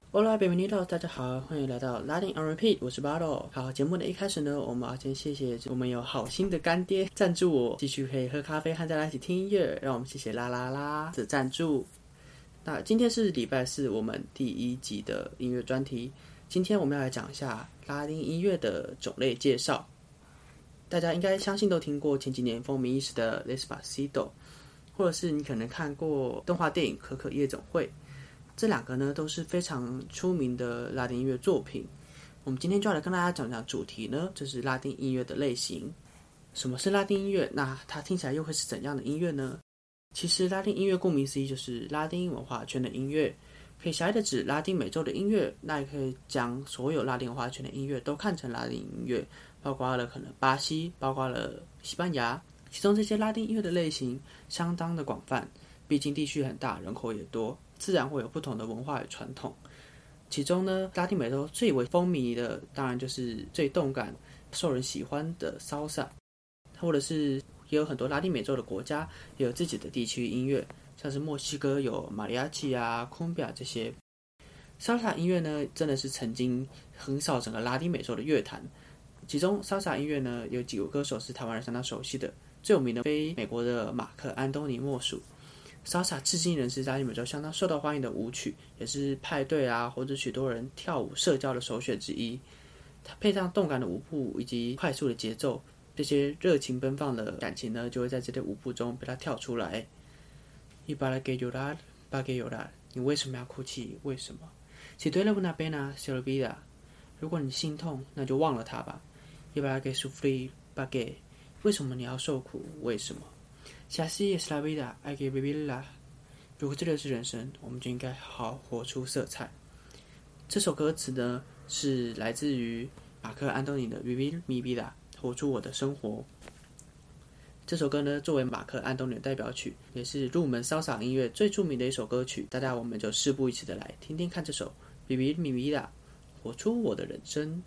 Hola, bienvenido， 大家好，欢迎来到拉丁 on repeat， 我是 Bottle。好，节目的一开始呢，我们要先谢谢我们有好心的干爹赞助我，继续可以喝咖啡和大家一起听音乐，让我们谢谢啦啦啦的赞助。那今天是礼拜四，我们第一集的音乐专题。今天我们要来讲一下拉丁音乐的种类介绍。大家应该相信都听过前几年风靡一时的 Despacito， 或者是你可能看过动画电影《可可夜总会》。这两个呢都是非常出名的拉丁音乐作品。我们今天就要来跟大家讲讲主题呢，就是拉丁音乐的类型。什么是拉丁音乐？那它听起来又会是怎样的音乐呢？其实拉丁音乐顾名思义就是拉丁文化圈的音乐，可以狭义的指拉丁美洲的音乐，那也可以将所有拉丁文化圈的音乐都看成拉丁音乐，包括了可能巴西，包括了西班牙。其中这些拉丁音乐的类型相当的广泛，毕竟地区很大，人口也多，自然会有不同的文化与传统。其中呢，拉丁美洲最为风靡的，当然就是最动感、受人喜欢的 Salsa， 或者是也有很多拉丁美洲的国家也有自己的地区音乐，像是墨西哥有马里亚奇啊、Cumbia 这些。Salsa 音乐呢，真的是曾经横扫整个拉丁美洲的乐坛。其中 Salsa 音乐呢，有几个歌手是台湾人相当熟悉的，最有名的非美国的马克·安东尼莫属。Salsa 至今仍是拉丁美洲相当受到欢迎的舞曲，也是派对啊或者许多人跳舞社交的首选之一。它配上动感的舞步以及快速的节奏，这些热情奔放的感情呢，就会在这些舞步中被它跳出来。Y para que llorar, para que llorar， 你为什么要哭泣？为什么？ Si duele una pena, se olvida。 如果你心痛，那就忘了它吧。Y para que sufrir, para que， 为什么你要受苦？为什么？Si así es la vida, hay que vivirla。 如果这就是人生，我们就应该好好活出色彩。这首歌词呢，是来自于马克·安东尼的《Vivir mi vida》，活出我的生活。这首歌呢，作为马克·安东尼的代表曲，也是入门骚洒音乐最著名的一首歌曲。大家我们就事不宜迟的来听听看这首《Vivir mi vida》，活出我的人生。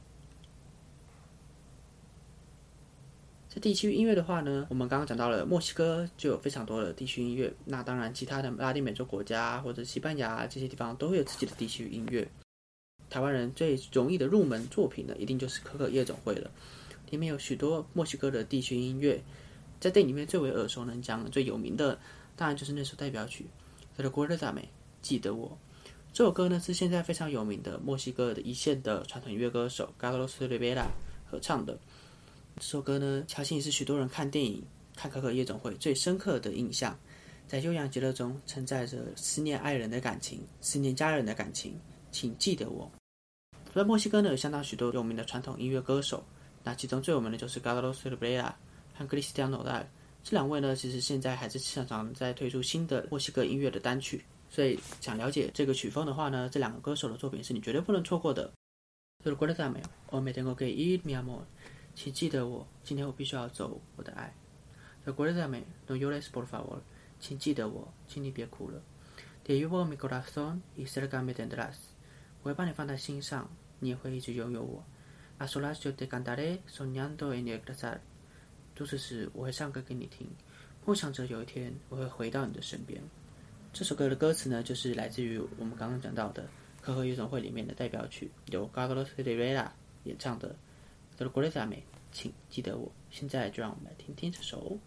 在地区音乐的话呢，我们刚刚讲到了墨西哥就有非常多的地区音乐，那当然其他的拉丁美洲国家或者西班牙这些地方都会有自己的地区音乐。台湾人最容易的入门作品呢，一定就是可可夜总会了，里面有许多墨西哥的地区音乐。在电影里面最为耳熟能详、最有名的，当然就是那首代表曲《Recuérdame》，记得我。这首歌呢是现在非常有名的墨西哥的一线的传统音乐歌手 Carlos Rivera 合唱的。这首歌呢，相信是许多人看电影、看可可夜总会最深刻的印象。在悠扬节奏中，承载着思念爱人的感情、思念家人的感情，请记得我。在墨西哥呢，有相当许多有名的传统音乐歌手，那其中最有名的就是 Carlos Rivera 和 Cristian Nodal。这两位呢，其实现在还是常常在推出新的墨西哥音乐的单曲，所以想了解这个曲风的话呢，这两个歌手的作品是你绝对不能错过的。Recuérdame, o me tengo que ir, mi amor。请记得我，今天我必须要走，我的爱。Recuérdame, no llores por favor。请记得我，请你别哭了。Te llevo mi corazón y cerca me tendrás。我会把你放在心上，你也会一直拥有我。A solas yo te cantaré soñando en regresar。独处时我会唱歌给你听，梦想着有一天我会回到你的身边。这首歌的歌词呢，就是来自于我们刚刚讲到的可可夜总会里面的代表曲，由 Carlos Rivera 演唱的。Recuérdame， 请记得我。现在就让我们来听听这首。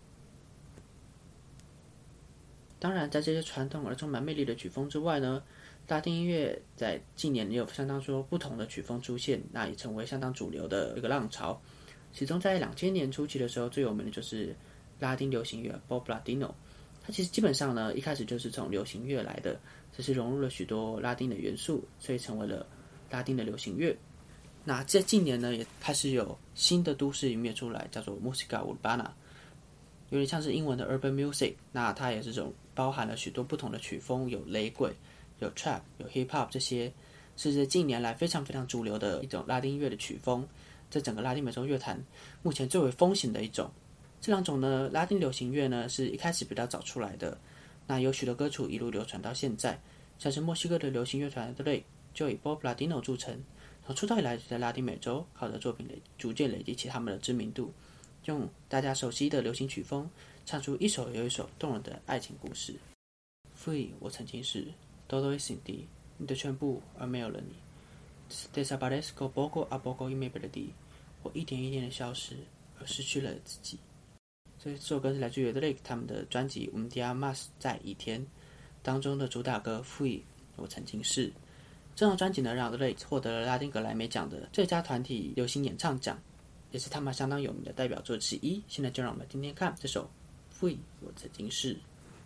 当然，在这些传统而充满魅力的曲风之外呢，拉丁音乐在近年也有相当多不同的曲风出现，那也成为相当主流的一个浪潮。其中在2000年初期的时候，最有名的就是拉丁流行乐 Pop Latino。它其实基本上呢，一开始就是从流行乐来的，只是融入了许多拉丁的元素，所以成为了拉丁的流行乐。那在近年呢，也开始有新的都市音乐出来，叫做 Música Urbana， 有点像是英文的 Urban Music。那它也是这种包含了许多不同的曲风，有雷鬼、有 Trap、有 Hip Hop， 这些是在近年来非常非常主流的一种拉丁音乐的曲风，在整个拉丁美洲乐坛目前最为风行的一种。这两种呢，拉丁流行乐呢是一开始比较早出来的，那有许多歌曲一路流传到现在，像是墨西哥的流行乐团 Drake 就以 Pop Latino 著称。从出道以来，在拉丁美洲靠着作品逐渐累积起他们的知名度，用大家熟悉的流行曲风唱出一首又一首动人的爱情故事。Fui， 我曾经是 Todo es sin ti， 你的全部而没有了你。Desaparezco poco a poco y me perdí， 我一点一点的消失而失去了自己。这首歌是来自于 Drake 他们的专辑《Un Día Más》在倚天当中的主打歌 Fui， 我曾经是。这张专辑呢，让 Drake 获得了拉丁格莱美奖的最佳团体流行演唱奖，也是他们相当有名的代表作之一。现在就让我们听听看这首 Fui， 我曾经是。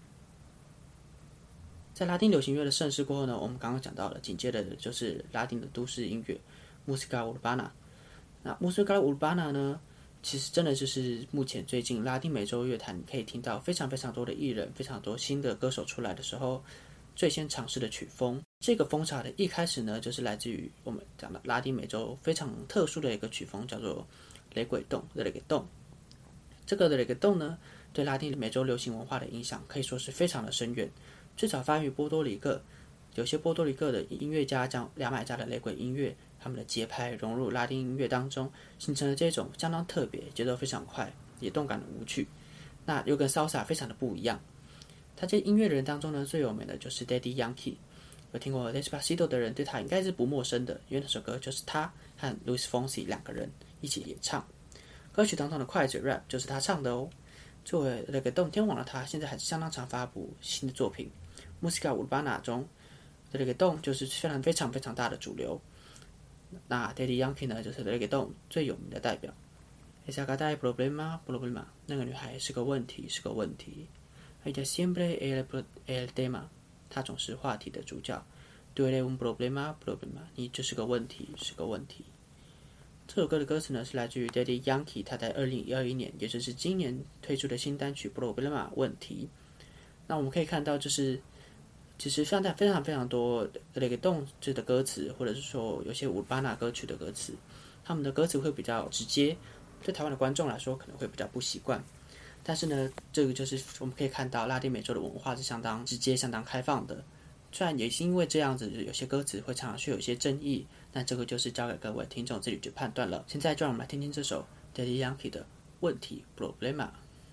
在拉丁流行乐的盛世过后呢，我们刚刚讲到了，紧接着的就是拉丁的都市音乐 Música Urbana。那 Música Urbana 呢，其实真的就是目前最近拉丁美洲乐坛可以听到非常非常多的艺人、非常多新的歌手出来的时候，最先尝试的曲风。这个风潮的一开始呢，就是来自于我们讲的拉丁美洲非常特殊的一个曲风，叫做雷鬼动 （Reggaeton）。这个 Reggaeton 呢，对拉丁美洲流行文化的影响可以说是非常的深远。最早发源于波多黎各，有些波多黎各的音乐家将牙买加的雷鬼音乐，他们的节拍融入拉丁音乐当中，形成了这种相当特别、节奏非常快、也动感的舞曲。那又跟 salsa 非常的不一样。他这音乐人当中呢，最有名的就是 Daddy Yankee。有听过 Despacito 的人对他应该是不陌生的，因为那首歌就是他和 Luis Fonsi 两个人一起演唱。歌曲当中的快嘴 rap 就是他唱的哦。作为Reggaeton天王的他，现在还是相当常发布新的作品。Música Urbana 中的 Reggaeton 就是非常非常大的主流。那 Daddy Yankee 呢，就是 Reggaeton 最有名的代表。Esa gata es problema， 那个女孩是个问题，是个问题。Ella siempre el tema， 她总是话题的主角。Tú eres un problema， 你就是个问题，是个问题。这首歌的歌词呢，是来自于 Daddy Yankee 他在2021年，也就是今年推出的新单曲《Problema》问题。那我们可以看到，就是其实现在非常非常多Reggaeton的歌词，或者是说有些Urbana歌曲的歌词，他们的歌词会比较直接，对台湾的观众来说可能会比较不习惯。但是呢，这个就是我们可以看到拉丁美洲的文化是相当直接、相当开放的。虽然也是因为这样子，有些歌词会常常是有一些争议，但这个就是交给各位听众自己去判断了。现在就让我们来听听这首 Daddy Yankee 的问题 Problema。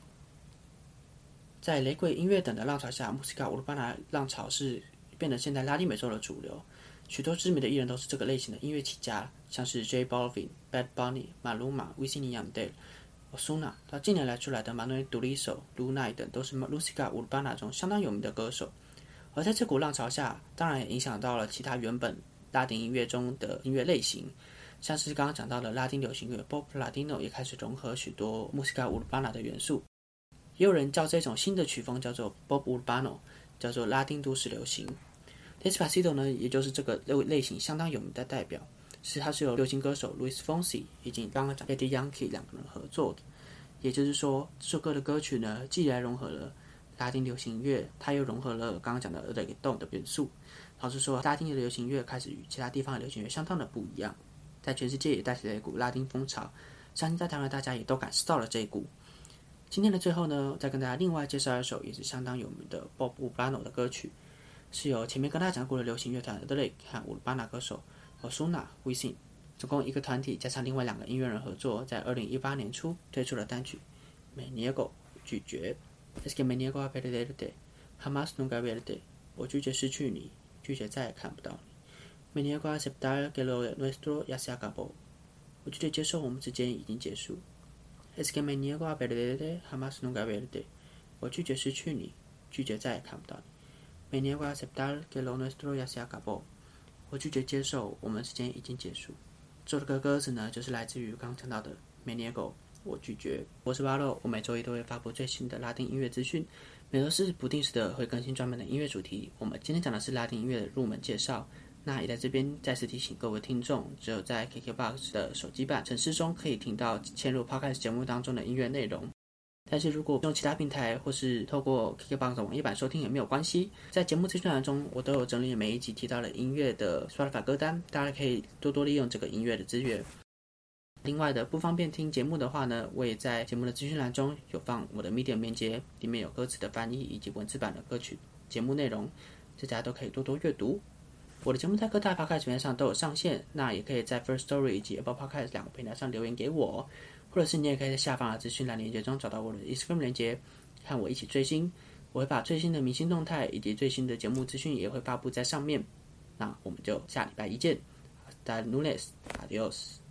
在雷鬼音乐等的浪潮下，Música Urbana 浪潮是变得现在拉丁美洲的主流。许多知名的艺人都是这个类型的音乐起家，像是 J Balvin、Bad Bunny、Maluma、Wisin y Yandel、Ozuna， 到近年来出来的 Manuel Turizo、Lunay 等，都是 Música Urbana 中相当有名的歌手。而在这股浪潮下，当然也影响到了其他原本拉丁音乐中的音乐类型，像是刚刚讲到的拉丁流行乐 Pop Latino 也开始融合许多 Música Urbana 的元素。也有人叫这种新的曲风叫做 Pop Urbano， 叫做拉丁都市流行。Despacito 呢，也就是这个类型相当有名的代表，它是由流行歌手 Luis Fonsi 以及刚刚讲 Daddy Yankee 两个人合作的。也就是说，这首歌的歌曲呢，既然融合了拉丁流行乐，它又融合了刚刚讲的 Reggaeton 的元素。老实说，拉丁的流行乐开始与其他地方的流行乐相当的不一样，在全世界也带起了一股拉丁风潮。相信在台湾大家也都感受到了这一股。今天的最后呢，再跟大家另外介绍一首也是相当有名的 Pop Urbano 的歌曲，是由前面跟大家讲过的流行乐团 Drake 和 Urbana 歌手 Ozuna、Wisin 总共一个团体加上另外两个音乐人合作，在2018年初推出了单曲 Me Niego 拒绝。Es que me niego a perderte, jamás nunca verte。 我拒绝失去你，拒绝再也看不到你。Me niego a aceptar que lo nuestro ya se acabó。 我拒绝接受我们之间已经结束。Es que me niego a perderte, jamás nunca verte。 我拒绝失去你，拒绝再也看不到你。Me niego a aceptar que lo nuestro ya se acabó。 我拒绝接受我们之间已经结束。这首歌歌词呢，就是来自于刚刚讲到的 Me niego， 我拒绝。我是巴洛，我每周一都会发布最新的拉丁音乐资讯，每周四不定时的会更新专门的音乐主题。我们今天讲的是拉丁音乐的入门介绍。那也在这边再次提醒各位听众，只有在 KKBOX 的手机版程式中可以听到嵌入 Podcast 节目当中的音乐内容。但是如果用其他平台或是透过 KKBOX 的网页版收听也没有关系，在节目资讯栏中我都有整理每一集提到的音乐的 Spotify 歌单，大家可以多多利用这个音乐的资源。另外的不方便听节目的话呢，我也在节目的资讯栏中有放我的 Medium 链接，里面有歌词的翻译以及文字版的歌曲节目内容，大家都可以多多阅读。我的节目在各大 Podcast 平台上都有上线，那也可以在 First Story 以及 Apple Podcast 两个平台上留言给我，或者是你也可以在下方的资讯栏链接中找到我的 Instagram 链接，和我一起追星。我会把最新的明星动态以及最新的节目资讯也会发布在上面。 那我们就下礼拜一见。Hasta lunes，adios。